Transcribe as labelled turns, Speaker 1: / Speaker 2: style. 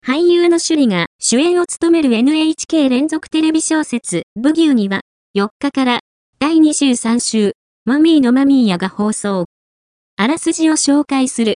Speaker 1: 俳優の趣里が主演を務める NHK 連続テレビ小説、ブギウギは、4日から第23週、マミーのマミーヤが放送。あらすじを紹介する。